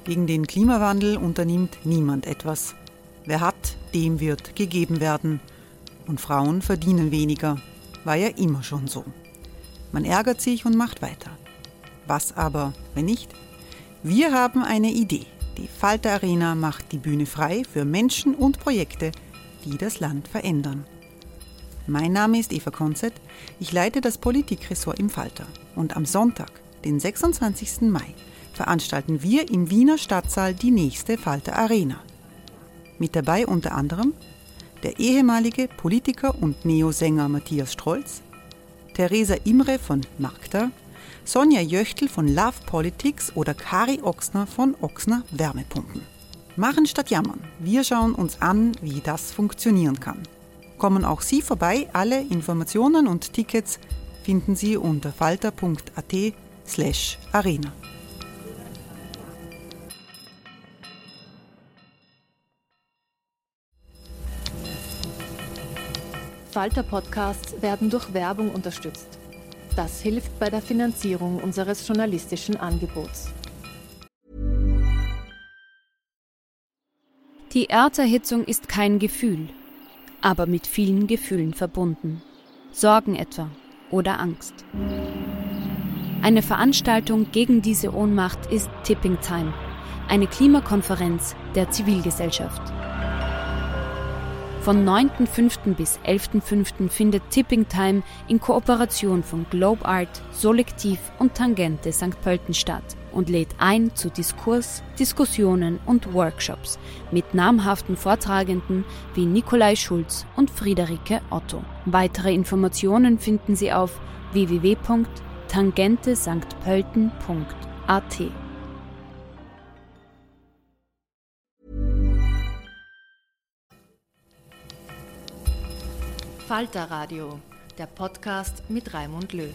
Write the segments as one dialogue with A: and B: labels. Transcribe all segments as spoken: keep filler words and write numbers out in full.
A: Gegen den Klimawandel unternimmt niemand etwas. Wer hat, dem wird gegeben werden. Und Frauen verdienen weniger. War ja immer schon so. Man ärgert sich und macht weiter. Was aber, wenn nicht? Wir haben eine Idee. Die Falter Arena macht die Bühne frei für Menschen und Projekte, die das Land verändern. Mein Name ist Eva Konzett. Ich leite das Politikressort im Falter. Und am Sonntag, den sechsundzwanzigsten Mai, veranstalten wir im Wiener Stadtsaal die nächste Falter Arena. Mit dabei unter anderem der ehemalige Politiker und Neosänger Matthias Strolz, Theresa Imre von Magda, Sonja Jöchtl von Love Politics oder Kari Ochsner von Ochsner Wärmepumpen. Machen statt jammern. Wir schauen uns an, wie das funktionieren kann. Kommen auch Sie vorbei. Alle Informationen und Tickets finden Sie unter falter.at slash arena.
B: Falter-Podcasts werden durch Werbung unterstützt. Das hilft bei der Finanzierung unseres journalistischen Angebots.
C: Die Erderhitzung ist kein Gefühl, aber mit vielen Gefühlen verbunden. Sorgen etwa oder Angst. Eine Veranstaltung gegen diese Ohnmacht ist Tipping Time, eine Klimakonferenz der Zivilgesellschaft. Von neunten fünften bis elften fünften findet Tipping Time in Kooperation von Globe Art, Solektiv und Tangente Sankt Pölten statt und lädt ein zu Diskurs, Diskussionen und Workshops mit namhaften Vortragenden wie Nikolai Schulz und Friederike Otto. Weitere Informationen finden Sie auf w w w punkt tangente sankt pölten punkt a t.
B: Falter Radio, der Podcast mit Raimund Löw.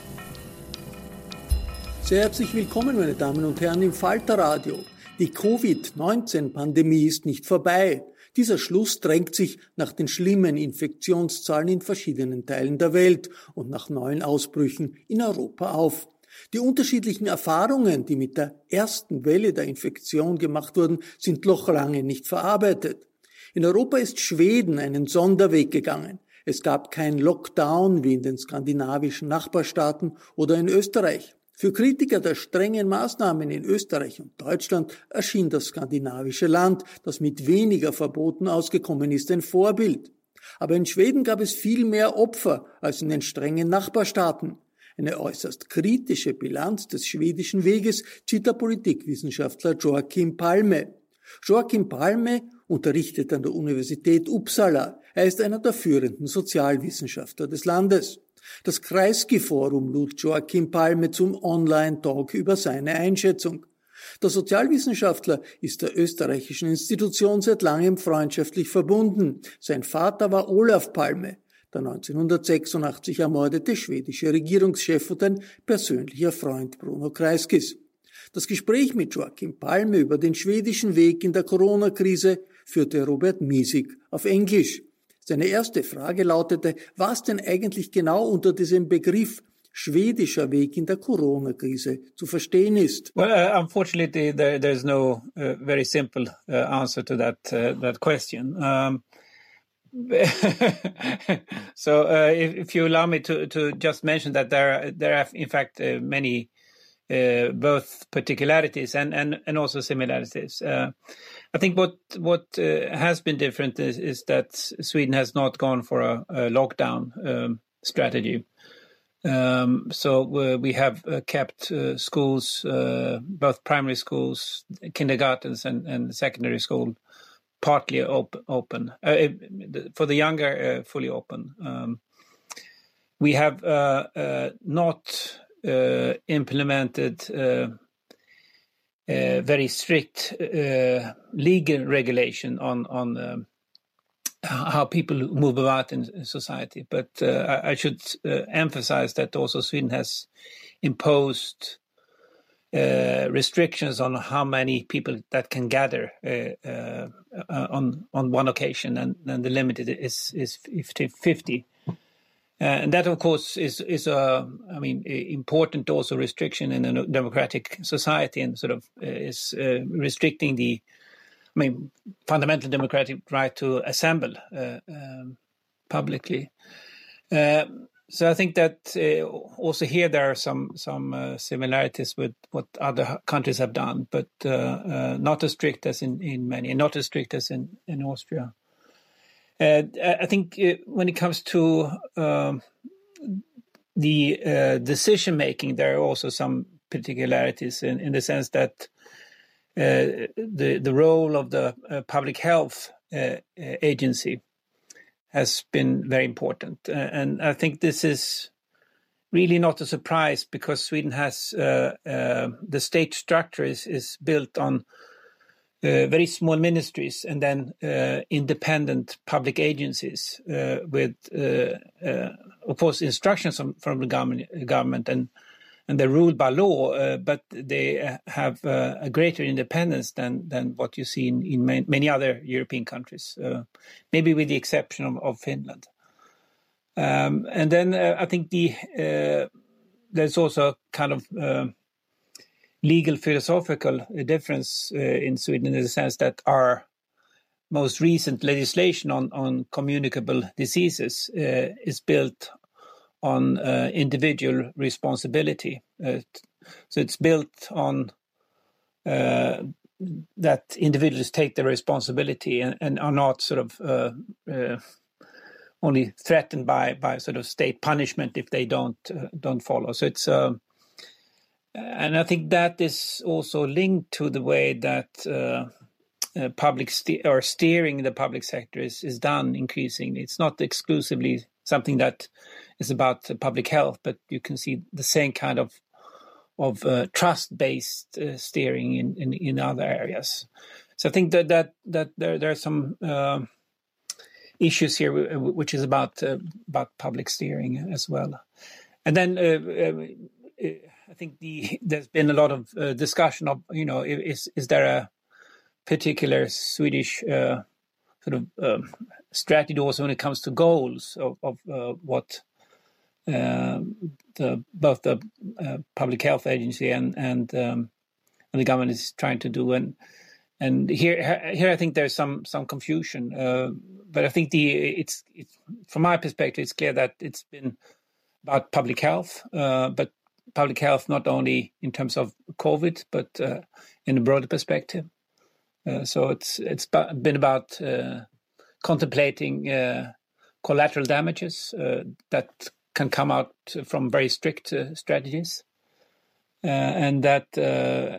D: Sehr herzlich willkommen, meine Damen und Herren, im Falter Radio. Die Covid neunzehn Pandemie ist nicht vorbei. Dieser Schluss drängt sich nach den schlimmen Infektionszahlen in verschiedenen Teilen der Welt und nach neuen Ausbrüchen in Europa auf. Die unterschiedlichen Erfahrungen, die mit der ersten Welle der Infektion gemacht wurden, sind noch lange nicht verarbeitet. In Europa ist Schweden einen Sonderweg gegangen. Es gab kein Lockdown wie in den skandinavischen Nachbarstaaten oder in Österreich. Für Kritiker der strengen Maßnahmen in Österreich und Deutschland erschien das skandinavische Land, das mit weniger Verboten ausgekommen ist, ein Vorbild. Aber in Schweden gab es viel mehr Opfer als in den strengen Nachbarstaaten. Eine äußerst kritische Bilanz des schwedischen Weges zieht der Politikwissenschaftler Joakim Palme. Joakim Palme unterrichtet an der Universität Uppsala. Er ist einer der führenden Sozialwissenschaftler des Landes. Das Kreisky-Forum lud Joakim Palme zum Online-Talk über seine Einschätzung. Der Sozialwissenschaftler ist der österreichischen Institution seit langem freundschaftlich verbunden. Sein Vater war Olaf Palme, der neunzehnhundertsechsundachtzig ermordete schwedische Regierungschef und ein persönlicher Freund Bruno Kreiskys. Das Gespräch mit Joakim Palme über den schwedischen Weg in der Corona-Krise führte Robert Miesig auf Englisch. Seine erste Frage lautete, was denn eigentlich genau unter diesem Begriff schwedischer Weg in der Corona-Krise zu verstehen ist.
E: Well, uh, unfortunately, there, there's no uh, very simple uh, answer to that uh, that question. Um, so, uh, if, if you allow me to to just mention that there there are in fact uh, many uh, both particularities and and and also similarities. Uh, I think what what uh, has been different is, is that Sweden has not gone for a, a lockdown um, strategy. Um, so uh, we have uh, kept uh, schools, uh, both primary schools, kindergartens, and, and secondary school, partly op- open. Uh, for the younger, uh, fully open. Um, we have uh, uh, not uh, implemented. Uh, Uh, very strict uh, legal regulation on on um, how people move about in society. But uh, I, I should uh, emphasize that also Sweden has imposed uh, restrictions on how many people that can gather uh, uh, on on one occasion, and, and the limit is is fifty. Uh, and that, of course, is is a, I mean, important also restriction in a democratic society, and sort of uh, is uh, restricting the, I mean, fundamental democratic right to assemble uh, um, publicly. Uh, so I think that uh, also here there are some some uh, similarities with what other countries have done, but uh, uh, not as strict as in, in many, and not as strict as in, in Austria. Uh, I think uh, when it comes to um, the uh, decision making, there are also some particularities in, in the sense that uh, the the role of the uh, public health uh, agency has been very important, uh, and I think this is really not a surprise because Sweden has uh, uh, the state structure is is built on Uh, very small ministries and then uh, independent public agencies uh, with, uh, uh, of course, instructions from, from the government, government and and they're ruled by law, uh, but they have uh, a greater independence than than what you see in, in many other European countries, uh, maybe with the exception of, of Finland. Um, and then uh, I think the uh, there's also a kind of uh, legal philosophical difference uh, in Sweden in the sense that our most recent legislation on, on communicable diseases uh, is built on uh, individual responsibility. Uh, so it's built on uh, that individuals take the responsibility and, and are not sort of uh, uh, only threatened by, by sort of state punishment if they don't uh, don't follow. So it's uh, And I think that is also linked to the way that uh, uh, public ste- or steering the public sector is, is done increasingly. It's not exclusively something that is about uh, public health, but you can see the same kind of of uh, trust-based uh, steering in, in, in other areas. So I think that that that there there are some uh, issues here which is about uh, about public steering as well, and then. Uh, uh, I think the there's been a lot of uh, discussion of, you know, is is there a particular Swedish uh, sort of um, strategy also when it comes to goals of, of uh, what uh, the both the uh, public health agency and and, um, and the government is trying to do, and and here here I think there's some some confusion, uh, but I think the it's, it's from my perspective it's clear that it's been about public health, uh, but public health not only in terms of COVID, but uh, in a broader perspective. Uh, so it's it's been about uh, contemplating uh, collateral damages uh, that can come out from very strict uh, strategies, uh, and that uh,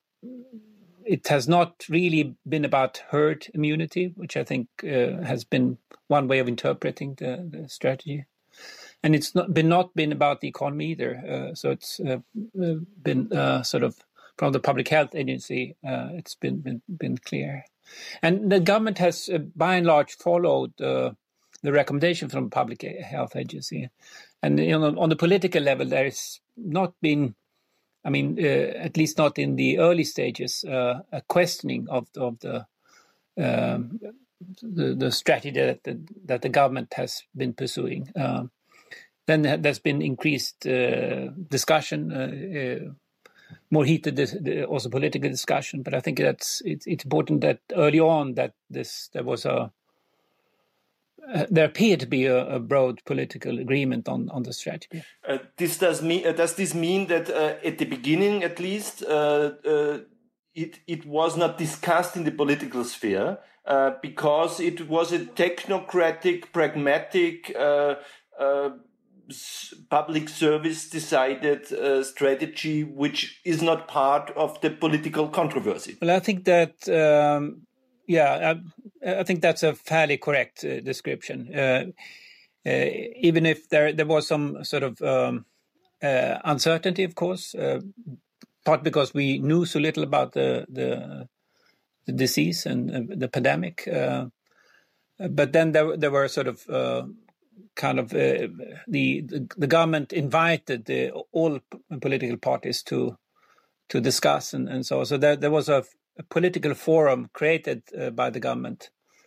E: it has not really been about herd immunity, which I think uh, has been one way of interpreting the, the strategy. And it's not been not been about the economy either. Uh, so it's uh, been uh, sort of from the Public Health Agency. Uh, it's been, been been clear, and the government has uh, by and large followed uh, the recommendation from the Public Health Agency. And you know, on the political level, there has not been, I mean, uh, at least not in the early stages, uh, a questioning of of the. Um, the, the strategy that the, that the government has been pursuing. Um, Then there's been increased uh, discussion, uh, uh, more heated dis- also political discussion. But I think that's it's, it's important that early on that this there was a uh, there appeared to be a, a broad political agreement on, on the strategy.
F: Uh, this does mean uh, does this mean that uh, at the beginning, at least, uh, uh, it it was not discussed in the political sphere uh, because it was a technocratic, pragmatic. Uh, uh, public service decided uh, strategy which is not part of the political controversy?
E: Well, I think that, um, yeah, I, I think that's a fairly correct uh, description. Uh, uh, even if there there was some sort of um, uh, uncertainty, of course, uh, part because we knew so little about the the, the disease and uh, the pandemic. Uh, but then there there were sort of uh, kind of uh, the, the the government invited the, all political parties to to discuss and, and so so there there was a, a political forum created uh, by the government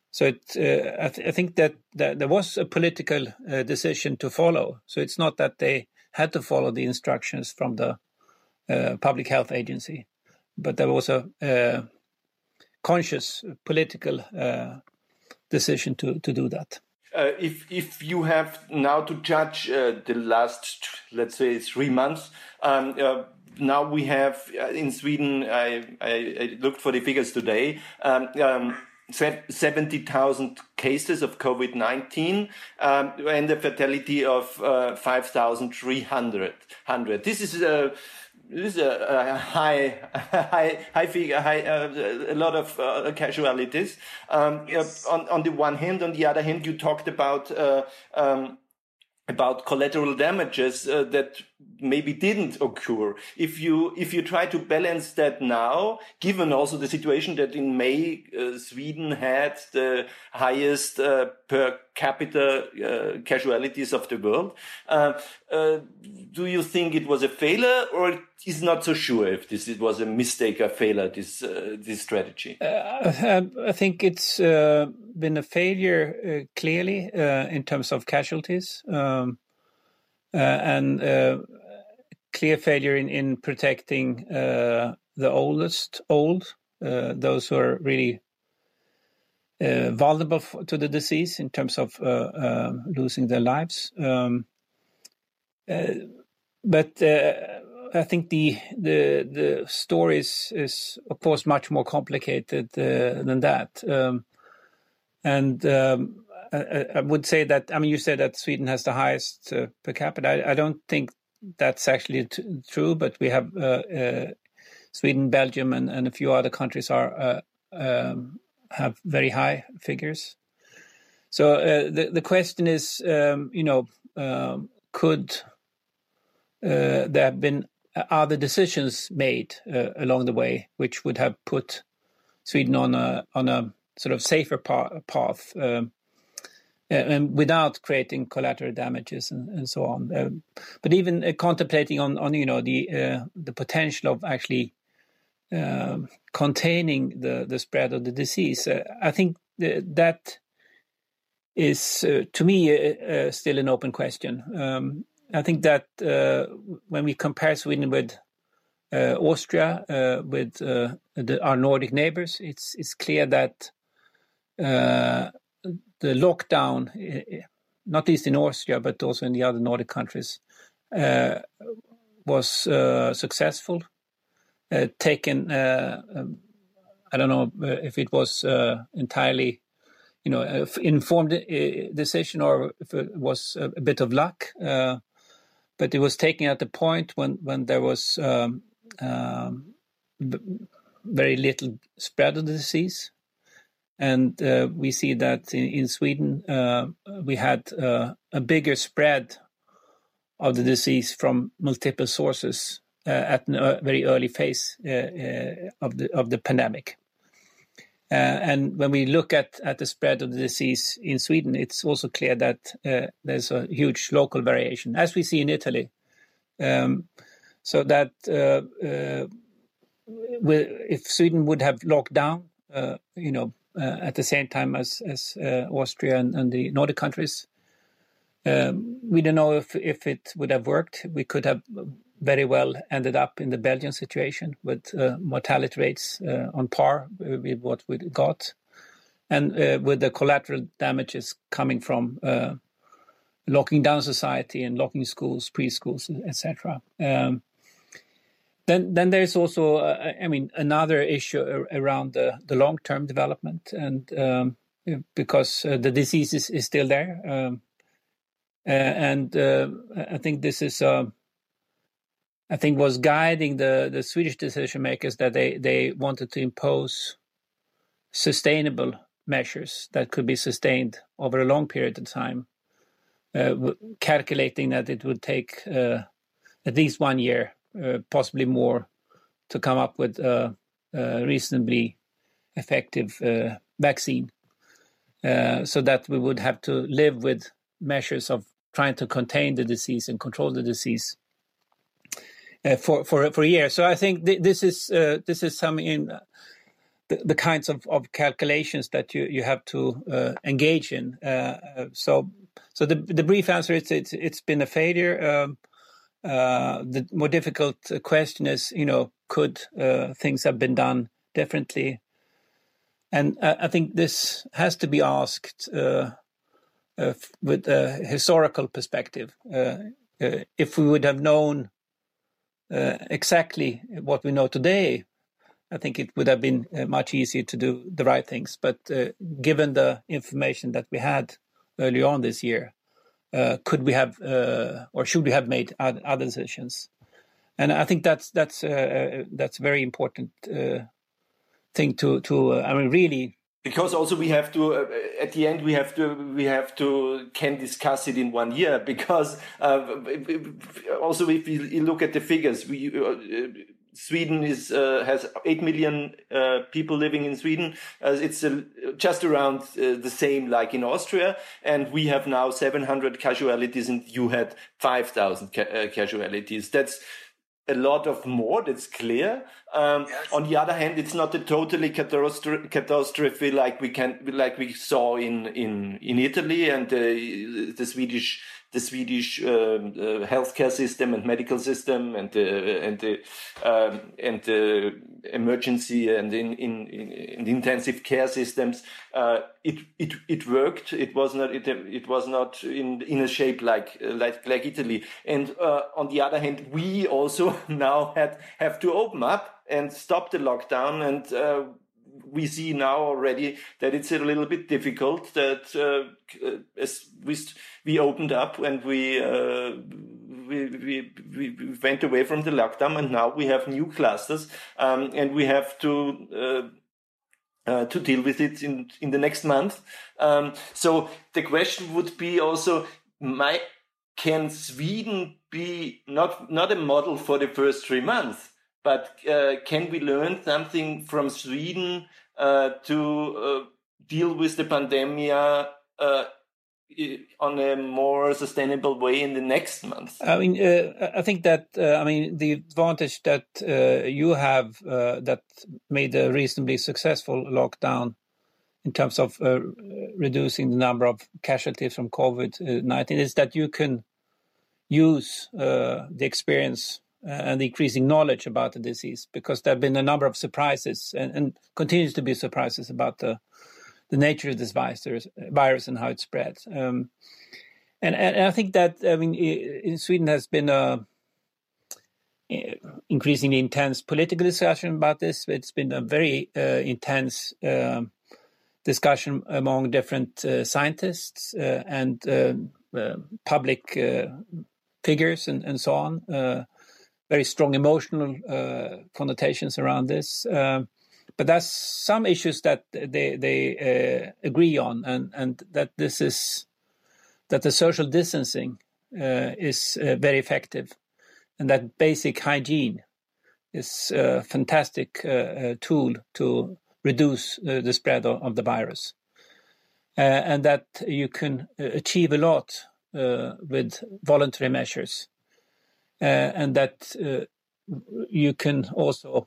E: So it, uh, I, th- I think that, that there was a political uh, decision to follow. So it's not that they had to follow the instructions from the uh, public health agency, but there was a uh, conscious political uh, decision to, to do that.
F: Uh, if if you have now to judge uh, the last, let's say, three months, um, uh, now we have uh, in Sweden, I, I, I looked for the figures today, um, um, seventy thousand cases of COVID nineteen um, and a fatality of uh, five thousand three hundred. This is a This is a, a high, high, high figure, high, uh, a lot of uh, casualties. Um, yes. on, on the one hand, on the other hand, you talked about uh, um, about collateral damages uh, that maybe didn't occur. If you if you try to balance that now, given also the situation that in May uh, Sweden had the highest uh, per capita uh, casualties of the world, uh, uh, do you think it was a failure, or is not so sure if this it was a mistake, a failure, this uh, this strategy?
E: Uh, I think it's uh, been a failure uh, clearly uh, in terms of casualties. Um, uh, and uh, clear failure in, in protecting uh, the oldest old, uh, those who are really uh, vulnerable f- to the disease in terms of uh, uh, losing their lives. Um, uh, but uh, I think the the the story is, is of course much more complicated uh, than that. Um, and um, I, I would say that, I mean, you said that Sweden has the highest uh, per capita. I, I don't think that's actually t- true, but we have uh, uh, Sweden, Belgium, and, and a few other countries are uh, um, have very high figures. So uh, the the question is, um, you know, um, could uh, there have been other decisions made uh, along the way which would have put Sweden on a on a sort of safer pa- path? Um, and without creating collateral damages and, and so on. Uh, but even uh, contemplating on, on, you know, the uh, the potential of actually uh, containing the, the spread of the disease, uh, I think th- that is, uh, to me, uh, uh, still an open question. Um, I think that uh, when we compare Sweden with uh, Austria, uh, with uh, the, our Nordic neighbors, it's it's clear that uh, the lockdown, not least in Austria, but also in the other Nordic countries, uh, was uh, successful. Uh, taken, uh, um, I don't know if it was uh, entirely, you know, uh, informed uh, decision or if it was a, a bit of luck, uh, but it was taken at the point when when there was um, um, very little spread of the disease. And uh, we see that in, in Sweden, uh, we had uh, a bigger spread of the disease from multiple sources uh, at a very early phase uh, uh, of the of the pandemic. Uh, and when we look at, at the spread of the disease in Sweden, it's also clear that uh, there's a huge local variation, as we see in Italy. Um, so that uh, uh, if Sweden would have locked down, uh, you know, Uh, at the same time as as uh, Austria and, and the Nordic countries, um, we don't know if if it would have worked. We could have very well ended up in the Belgian situation with uh, mortality rates uh, on par with what we got, and uh, with the collateral damages coming from uh, locking down society and locking schools, preschools, et cetera. Um, Then, then there's also, uh, I mean, another issue around the, the long-term development, and um, because uh, the disease is, is still there, um, uh, and uh, I think this is, uh, I think, was guiding the, the Swedish decision makers, that they they wanted to impose sustainable measures that could be sustained over a long period of time, uh, calculating that it would take uh, at least one year. Uh, possibly more, to come up with a, a reasonably effective uh, vaccine, uh, so that we would have to live with measures of trying to contain the disease and control the disease uh, for for for a year. So I think th- this is uh, this is something in, the, the kinds of, of calculations that you, you have to uh, engage in. Uh, so so the the brief answer is it's it's been a failure. Um, uh, the more difficult question is, you know, could uh, things have been done differently? And uh, I think this has to be asked uh, uh, with a historical perspective. Uh, uh, if we would have known uh, exactly what we know today, I think it would have been uh, much easier to do the right things. But uh, given the information that we had early on this year, uh, could we have uh, or should we have made other decisions? And I think that's that's uh, that's a very important uh, thing to to. Uh, I mean, really.
F: Because also we have to, uh, at the end, we have to, we have to, can discuss it in one year. Because uh, also if you look at the figures, we, uh, Sweden is uh, has eight million uh, people living in Sweden. Uh, it's uh, just around uh, the same like in Austria, and we have now seven hundred casualties, and you had five thousand ca- uh, casualties. That's a lot of more, that's clear. Um, yes. On the other hand, it's not a totally catastrophe, catastrophe like we can, like we saw in in in Italy, and uh, the Swedish the Swedish uh, uh, healthcare system and medical system and uh, and the um, and the emergency and in in, in intensive care systems. Uh, it it it worked. It was not it it was not in in a shape like like like Italy. And uh, on the other hand, we also now had have to open up and stop the lockdown, and uh, we see now already that it's a little bit difficult. That uh, as we we opened up and we, uh, we we we went away from the lockdown, and now we have new clusters, um, and we have to uh, uh, to deal with it in in the next month. Um, so the question would be also, my, can Sweden be not not a model for the first three months? But uh, can we learn something from Sweden uh, to uh, deal with the pandemic uh, on a more sustainable way in the next month?
E: I mean, uh, I think that uh, I mean the advantage that uh, you have uh, that made a reasonably successful lockdown in terms of uh, reducing the number of casualties from COVID nineteen is that you can use uh, the experience and the increasing knowledge about the disease, because there have been a number of surprises and, and continues to be surprises about the the nature of this virus, virus and how it spreads. Um, and, and I think that, I mean, in Sweden has been a increasingly intense political discussion about this. It's been a very uh, intense uh, discussion among different uh, scientists uh, and uh, uh, public uh, figures and, and so on. Uh, very strong emotional uh, connotations around this. Uh, but there's some issues that they they uh, agree on, and, and that this is, that the social distancing uh, is uh, very effective, and that basic hygiene is a fantastic uh, uh, tool to reduce uh, the spread of, of the virus. Uh, and that you can achieve a lot uh, with voluntary measures. Uh, and that uh, you can also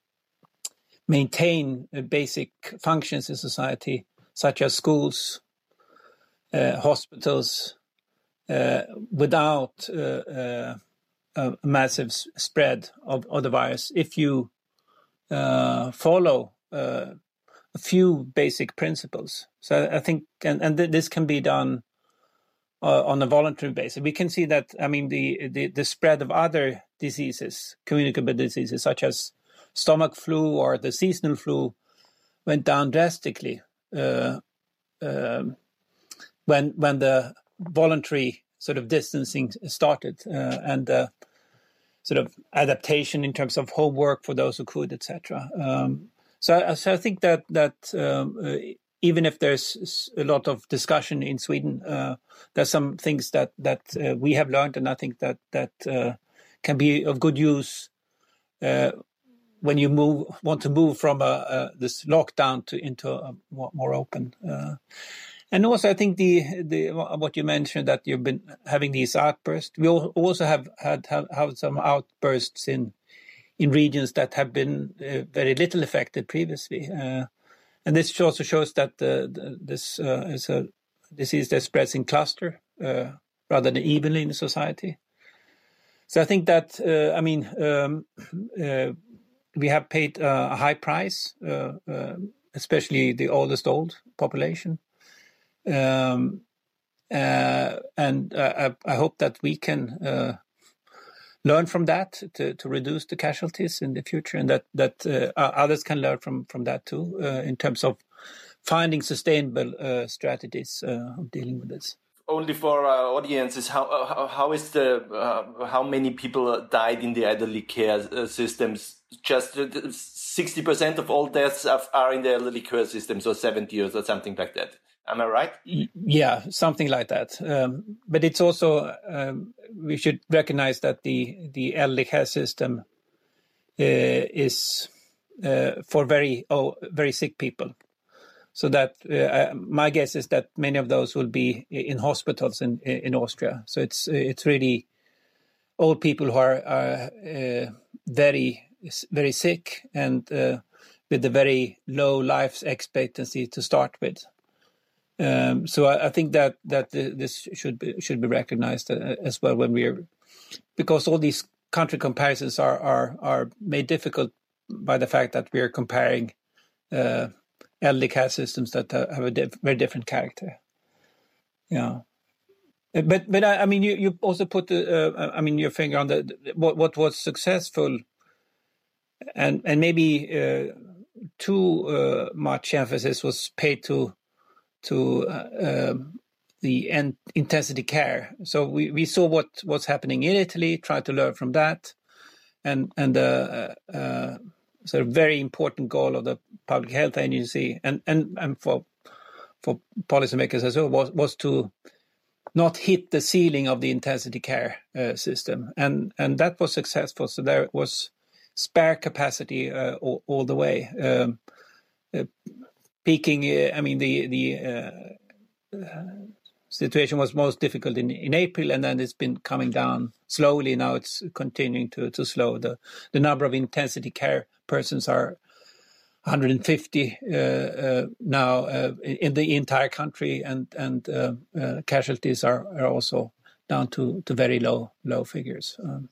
E: maintain uh, basic functions in society, such as schools, uh, hospitals, uh, without uh, uh, a massive spread of, of the virus, if you uh, follow uh, a few basic principles. So I think, and, and th- this can be done Uh, on a voluntary basis. We can see that, I mean, the, the, the spread of other diseases, communicable diseases, such as stomach flu or the seasonal flu, went down drastically uh, uh, when when the voluntary sort of distancing started, uh, and uh, sort of adaptation in terms of homework for those who could, et cetera. Um, so, so I think that that um, uh, even if there's a lot of discussion in Sweden, uh, there's some things that that uh, we have learned, and I think that that uh, can be of good use uh, when you move want to move from a, a, this lockdown to into a more, more open. Uh, and also, I think the the what you mentioned, that you've been having these outbursts. We also have had have, have some outbursts in in regions that have been uh, very little affected previously. Uh, and this also shows that uh, this uh, is a disease that spreads in cluster uh, rather than evenly in society. So I think that, uh, I mean, um, uh, we have paid uh, a high price, uh, uh, especially the oldest old population. Um, uh, and uh, I, I hope that we can uh, learn from that to, to reduce the casualties in the future, and that, that uh, others can learn from, from that too, uh, in terms of finding sustainable uh, strategies uh, of dealing with this.
F: Only for our audiences, how how, how is the uh, how many people died in the elderly care uh, systems? Just sixty percent of all deaths are in the elderly care system, so seventy or something like that. Am I right?
E: Yeah, something like that. Um, but it's also um, we should recognize that the the elderly care system uh, is uh, for very oh very sick people. So that uh, my guess is that many of those will be in hospitals in in Austria. So it's it's really old people who are, are uh, very very sick and uh, with a very low life expectancy to start with. Um, so I, I think that that this should be should be recognized as well when we're, because all these country comparisons are are are made difficult by the fact that we are comparing Uh, elderly care systems that uh, have a diff- very different character. Yeah, but but I, I mean, you, you also put the, uh, I mean, your finger on the, the what what was successful, and and maybe uh, too uh, much emphasis was paid to to uh, um, the en- intensity care. So we, we saw what what's happening in Italy, tried to learn from that, and and uh, uh, sort of very important goal of the Public Health Agency and, and, and for for policymakers as well was, was to not hit the ceiling of the intensity care uh, system. And and that was successful. So there was spare capacity uh, all, all the way. Um, uh, peaking, uh, I mean, the, the uh, uh, situation was most difficult in, in April, and then it's been coming down slowly. Now it's continuing to, to slow. The, the number of intensity care persons are one hundred fifty uh, uh, now uh, in the entire country, and and uh, uh, casualties are, are also down to, to very low low figures. Um.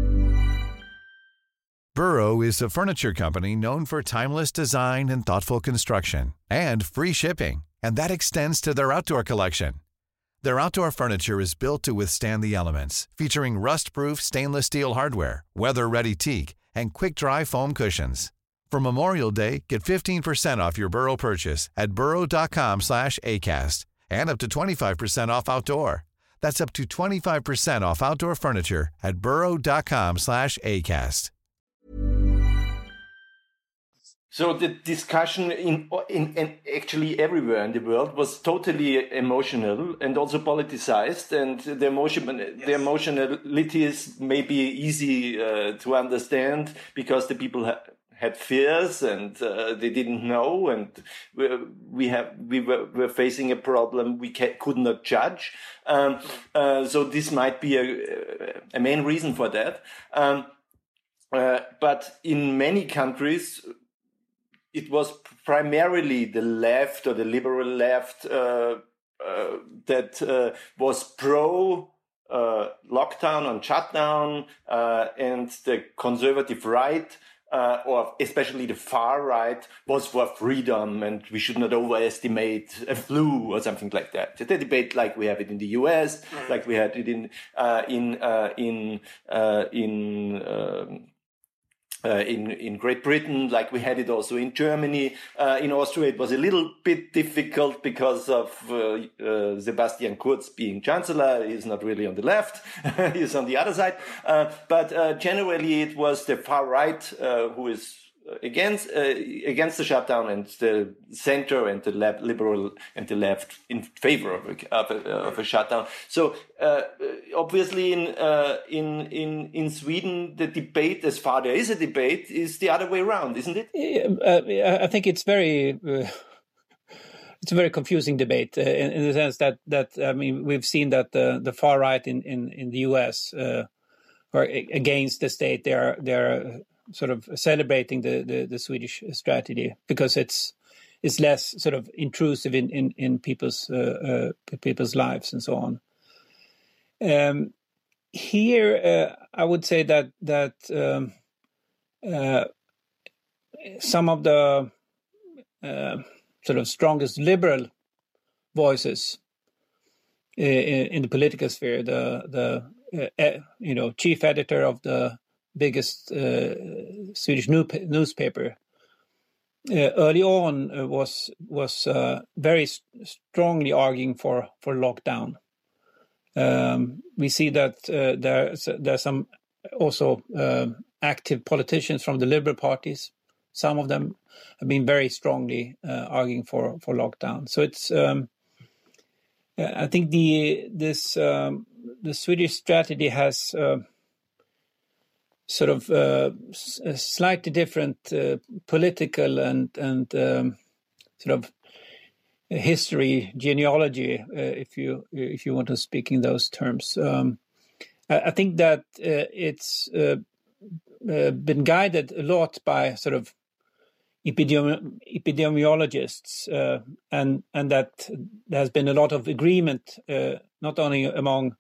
G: Burrow is a furniture company known for timeless design and thoughtful construction, and free shipping, and that extends to their outdoor collection. Their outdoor furniture is built to withstand the elements, featuring rust-proof stainless steel hardware, weather-ready teak, and quick-dry foam cushions. For Memorial Day, get fifteen percent off your Burrow purchase at burrow.com slash ACAST and up to twenty-five percent off outdoor. That's up to twenty-five percent off outdoor furniture at burrow.com slash ACAST.
F: So the discussion in, in, in actually everywhere in the world was totally emotional and also politicized, and the emotion, yes. the emotionality is maybe easy uh, to understand because the people ha- had fears and uh, they didn't know, and we, we have we were, were facing a problem we ca- could not judge. Um, uh, so this might be a, a main reason for that. Um, uh, but in many countries, it was primarily the left or the liberal left uh, uh, that uh, was pro uh, lockdown and shutdown, uh, and the conservative right, uh, or especially the far right, was for freedom, and we should not overestimate a flu or something like that. The debate, like we have it in the U S, like we had it in uh, in uh, in uh, in. Um, Uh, in, in Great Britain, like we had it also in Germany. Uh, in Austria, it was a little bit difficult because of uh, uh, Sebastian Kurz being chancellor. He's not really on the left. He's on the other side. Uh, but uh, generally, it was the far right uh, who is against uh, against the shutdown, and the center and the left, liberal and the left in favor of a, of a, of a shutdown. So uh, obviously in uh, in in in Sweden, the debate, as far there is a debate, is the other way around, isn't it?
E: Uh, I think it's very uh, it's a very confusing debate uh, in, in the sense that that I mean we've seen that the the far right in in in the U S uh, are against the state. They are they are sort of celebrating the, the, the Swedish strategy because it's it's less sort of intrusive in in, in people's uh, uh, people's lives and so on. Um, here, uh, I would say that that um, uh, some of the uh, sort of strongest liberal voices in, in the political sphere, the the uh, you know chief editor of the biggest uh, Swedish new, newspaper uh, early on uh, was was uh, very st- strongly arguing for for lockdown. Um, we see that uh, there's there's some also uh, active politicians from the liberal parties. Some of them have been very strongly uh, arguing for for lockdown. So it's um, I think the this um, the Swedish strategy has uh, sort of uh, a slightly different uh, political and and um, sort of history, genealogy, uh, if you if you want to speak in those terms. Um, I, I think that uh, it's uh, uh, been guided a lot by sort of epidemi- epidemiologists, uh, and and that there has been a lot of agreement, uh, not only among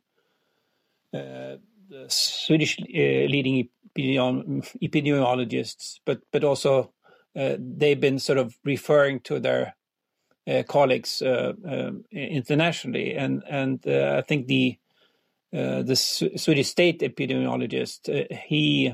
E: uh, the Swedish uh, leading epidemi- epidemiologists, but but also uh, they've been sort of referring to their Uh, colleagues uh, uh, internationally, and and uh, I think the uh, the S- Swedish state epidemiologist uh, he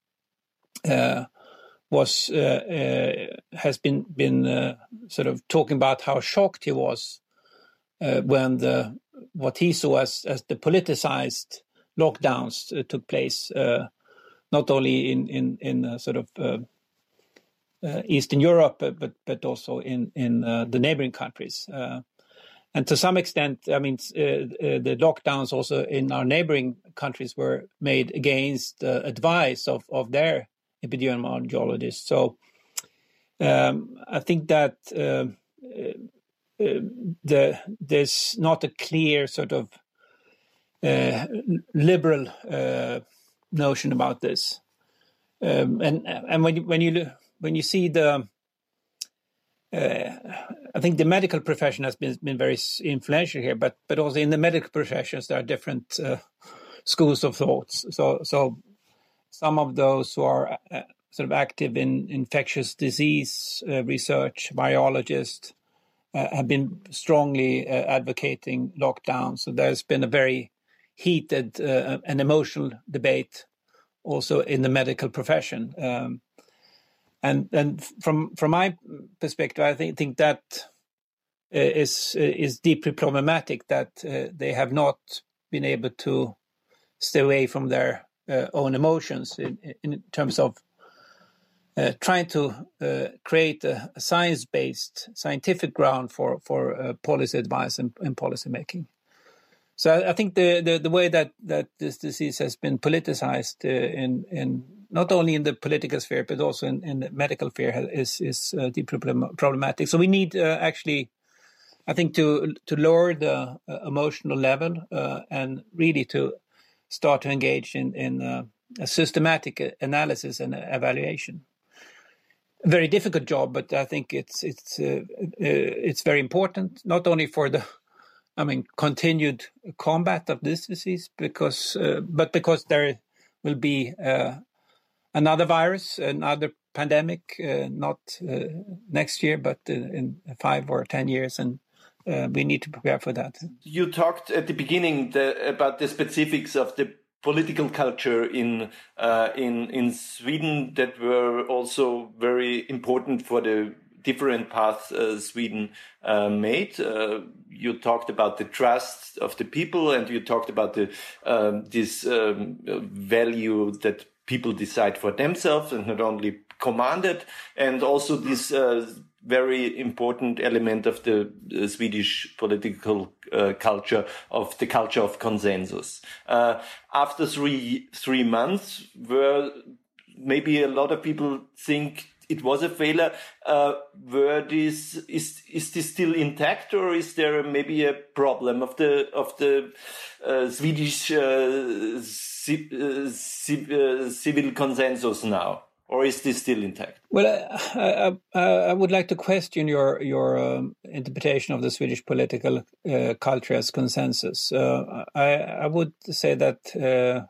E: uh, was uh, uh, has been been uh, sort of talking about how shocked he was uh, when the what he saw as as the politicized lockdowns uh, took place, uh, not only in in in uh, sort of uh, Uh, Eastern Europe, but but also in in uh, the neighboring countries, uh, and to some extent, I mean, uh, uh, the lockdowns also in our neighboring countries were made against the uh, advice of of their epidemiologists. So um, I think that uh, uh, the there's not a clear sort of uh, liberal uh, notion about this, um, and and when you, when you look. When you see the, uh, I think the medical profession has been been very influential here, but but also in the medical professions there are different uh, schools of thoughts. So so some of those who are uh, sort of active in infectious disease uh, research, virologists, uh, have been strongly uh, advocating lockdown. So there's been a very heated uh, and emotional debate also in the medical profession. Um, And and from from my perspective, I think think that uh, is uh, is deeply problematic that uh, they have not been able to stay away from their uh, own emotions in, in terms of uh, trying to uh, create a, a science-based, scientific ground for for uh, policy advice and, and policy making. So I, I think the, the the way that that this disease has been politicized uh, in in not only in the political sphere, but also in, in the medical sphere is, is uh, deeply problematic. So we need uh, actually, I think, to to lower the uh, emotional level uh, and really to start to engage in, in uh, a systematic analysis and evaluation. A very difficult job, but I think it's it's uh, uh, it's very important, not only for the, I mean, continued combat of this disease, because uh, but because there will be uh, another virus, another pandemic, uh, not uh, next year, but uh, in five or ten years, and uh, we need to prepare for that.
F: You talked at the beginning the, about the specifics of the political culture in uh, in in Sweden that were also very important for the different paths uh, Sweden uh, made. Uh, you talked about the trust of the people, and you talked about the um, this um, value that people decide for themselves and not only commanded, and also this uh, very important element of the uh, Swedish political uh, culture, of the culture of consensus. Uh, after three three months, where maybe a lot of people think it was a failure, uh, were this is is this still intact, or is there maybe a problem of the of the uh, Swedish uh, ci- uh, ci- uh, civil consensus now? Or is this still intact?
E: Well, I, I, I would like to question your your um, interpretation of the Swedish political uh, culture as consensus. Uh, I, I would say that, uh,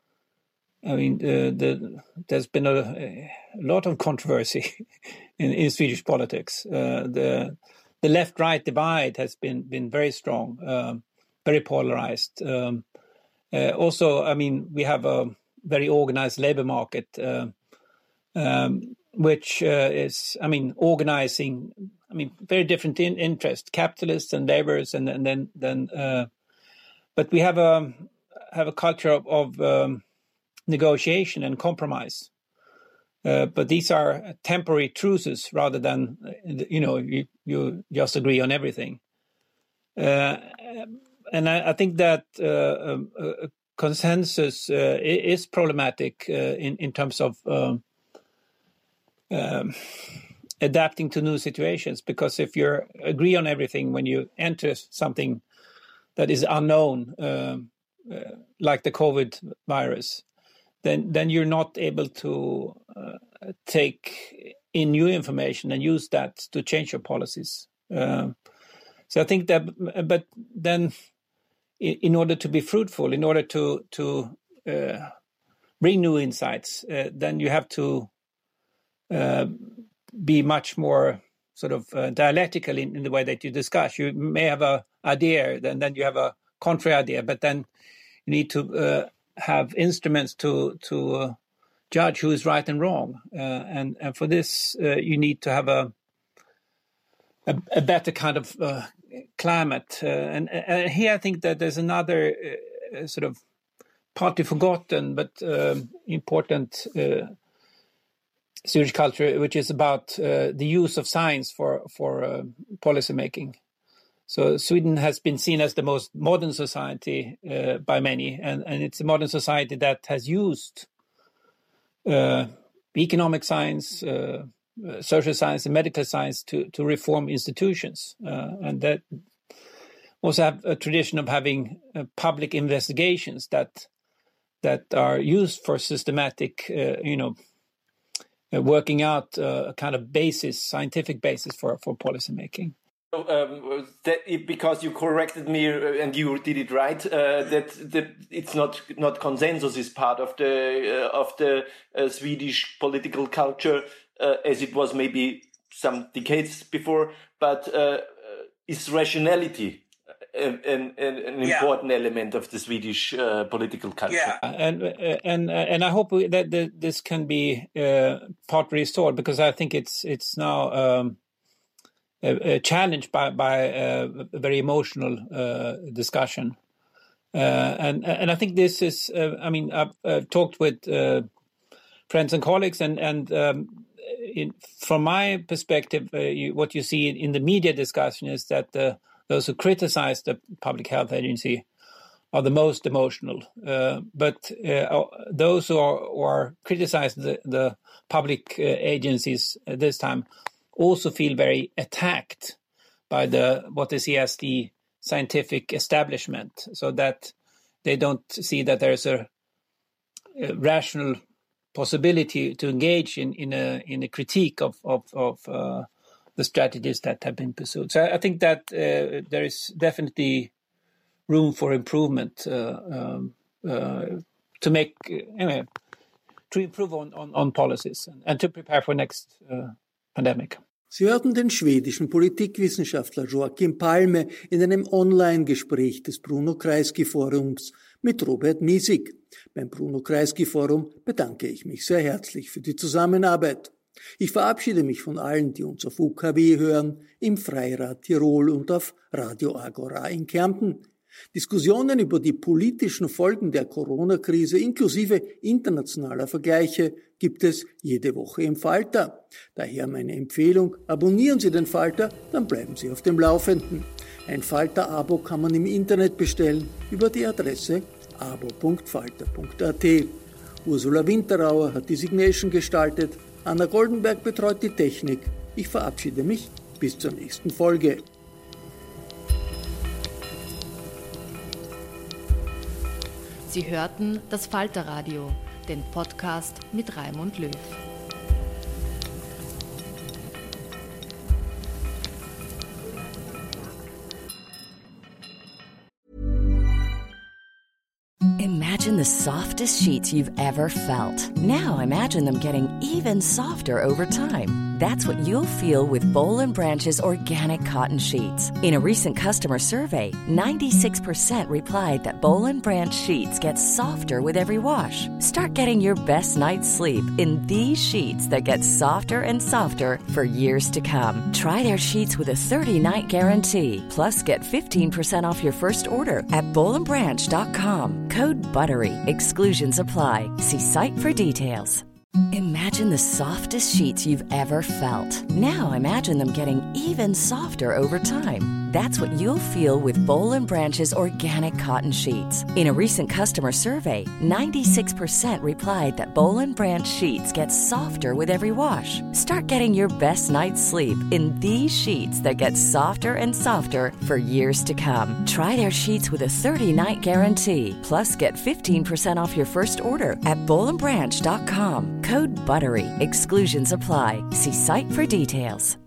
E: I mean, uh, the, there's been a, a lot of controversy in, in Swedish politics. Uh, the the left-right divide has been, been very strong, um, very polarized. Um, uh, also, I mean, we have a very organized labor market, uh, Um, which uh, is, I mean, organizing, I mean, very different in interest, capitalists and laborers, and, and then, then, uh, but we have a have a culture of, of um, negotiation and compromise. Uh, but these are temporary truces rather than, you know, you, you just agree on everything. Uh, and I, I think that uh, a consensus uh, is problematic uh, in in terms of. Um, Um, adapting to new situations, because if you agree on everything when you enter something that is unknown, um, uh, like the COVID virus, then then you're not able to uh, take in new information and use that to change your policies. Uh, so I think that, but then in, in order to be fruitful, in order to to uh, bring new insights, uh, then you have to Uh, be much more sort of uh, dialectical in, in the way that you discuss. You may have a idea, then then you have a contrary idea, but then you need to uh, have instruments to to uh, judge who is right and wrong. Uh, and and for this, uh, you need to have a a, a better kind of uh, climate. Uh, and, and here, I think that there's another uh, sort of partly forgotten but uh, important. Uh, Swedish culture, which is about uh, the use of science for for uh, policy making. So Sweden has been seen as the most modern society uh, by many, and, and it's a modern society that has used uh, economic science, uh, social science, and medical science to to reform institutions, uh, and that also have a tradition of having uh, public investigations that that are used for systematic, uh, you know. Uh, working out uh, a kind of basis, scientific basis for, for policy making.
F: Um, that it, because you corrected me uh, and you did it right, uh, that, that it's not not consensus is part of the uh, of the uh, Swedish political culture uh, as it was maybe some decades before, but uh, is rationality an, an, an yeah. important element of the Swedish uh, political culture.
E: Yeah. And and and I hope that the, this can be uh, partly restored, because I think it's it's now um, a, a challenge by by uh, a very emotional uh, discussion, uh, and and I think this is. Uh, I mean, I've uh, talked with uh, friends and colleagues, and and um, in, from my perspective, uh, you, what you see in, in the media discussion is that the those who criticize the Public Health Agency are the most emotional. Uh, but uh, those who are, who are criticizing the, the public uh, agencies at this time also feel very attacked by the what they see as the scientific establishment, so that they don't see that there's a, a rational possibility to engage in, in, a, in a critique of, of, of uh, the strategies that have been pursued. So I think that uh, there is definitely room for improvement uh, um, uh, to make, uh, anyway, to improve on, on, on policies and, and to prepare for next uh, pandemic.
D: Sie hörten den schwedischen Politikwissenschaftler Joachim Palme in einem Online-Gespräch des Bruno Kreisky-Forums mit Robert Miesig. Beim Bruno Kreisky-Forum bedanke ich mich sehr herzlich für die Zusammenarbeit. Ich verabschiede mich von allen, die uns auf U K W hören, im Freirad Tirol und auf Radio Agora in Kärnten. Diskussionen über die politischen Folgen der Corona-Krise inklusive internationaler Vergleiche gibt es jede Woche im Falter. Daher meine Empfehlung, abonnieren Sie den Falter, dann bleiben Sie auf dem Laufenden. Ein Falter-Abo kann man im Internet bestellen über die Adresse abo punkt falter punkt a t. Ursula Winterauer hat die Signation gestaltet, Anna Goldenberg betreut die Technik. Ich verabschiede mich bis zur nächsten Folge.
B: Sie hörten das Falterradio, den Podcast mit Raimund Löw.
H: Imagine the softest sheets you've ever felt. Now imagine them getting even softer over time. That's what you'll feel with Boll and Branch's organic cotton sheets. In a recent customer survey, ninety-six percent replied that Boll and Branch sheets get softer with every wash. Start getting your best night's sleep in these sheets that get softer and softer for years to come. Try their sheets with a thirty-night guarantee. Plus, get fifteen percent off your first order at boll and branch dot com. Code BUTTERY. Exclusions apply. See site for details. Imagine the softest sheets you've ever felt. Now imagine them getting even softer over time. That's what you'll feel with Boll and Branch's organic cotton sheets. In a recent customer survey, ninety-six percent replied that Boll and Branch sheets get softer with every wash. Start getting your best night's sleep in these sheets that get softer and softer for years to come. Try their sheets with a thirty-night guarantee. Plus, get fifteen percent off your first order at boll and branch dot com. Code BUTTERY. Exclusions apply. See site for details.